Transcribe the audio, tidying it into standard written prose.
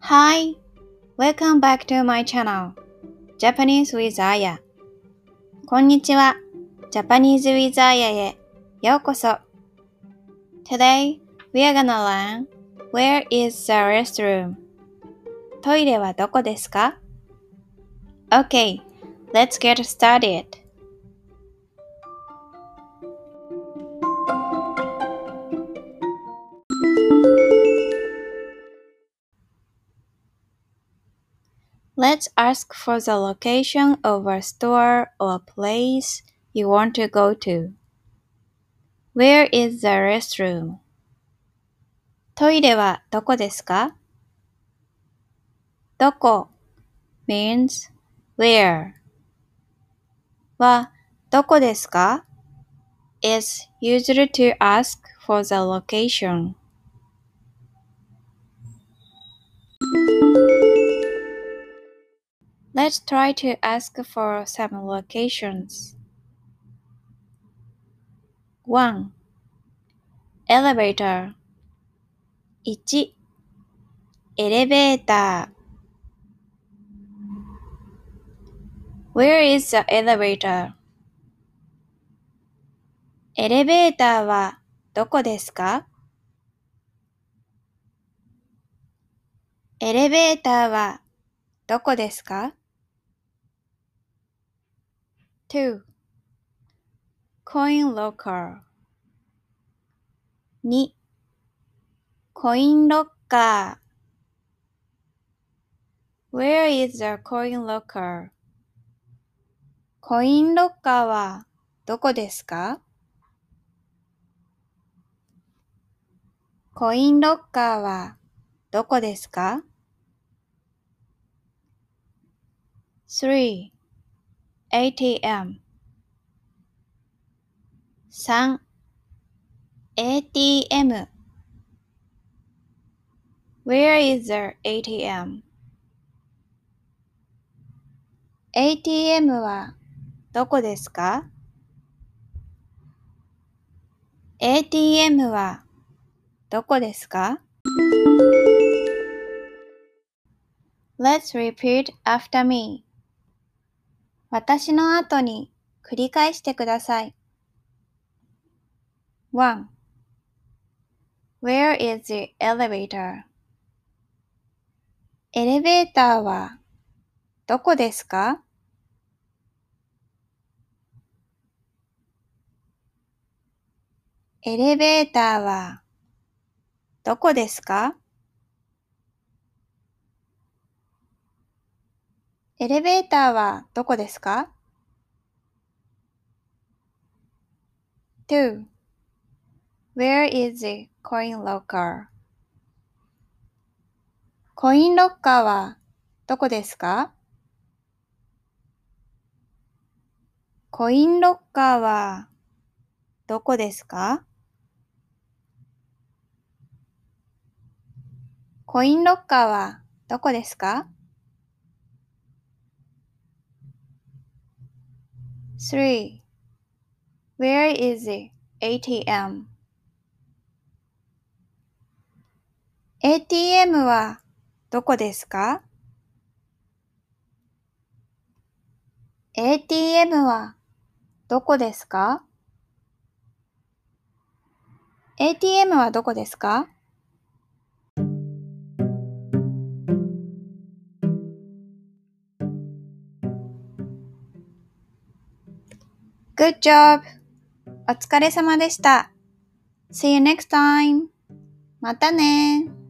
Hi, welcome back to my channel, Japanese with Aya. こんにちは、Japanese with Aya へようこそ。Today, we are gonna learn Where is the restroom? トイレはどこですか? Okay, let's get started. Let's ask for the location of a store or place you want to go to. Where is the restroom? トイレはどこですか? どこ means where はどこですか is used to ask for the location. Let's try to ask for some locations. 1. Elevator 1. エレベーター Where is the elevator? エレベーターはどこですか? エレベーターはどこですか? 2. Coin locker 2. コインロッカー Where is the coin locker? コインロッカーはどこですか? コインロッカーはどこですか? 3. ATM 3. ATM Where is the ATM? ATM はどこですか? ATM はどこですか? Let's repeat after me. 私の後に繰り返してください。1. Where is the elevator? エレベーターはどこですか? エレベーターはどこですか? エレベーターはどこですか? 2. Where is the coin locker? コインロッカーはどこですか? コインロッカーはどこですか? コインロッカーはどこですか? 3. Where is the ATM? ATM はどこですか? ATM はどこですか? ATM はどこですか? Good job! お疲れ様でした。See you next time! またね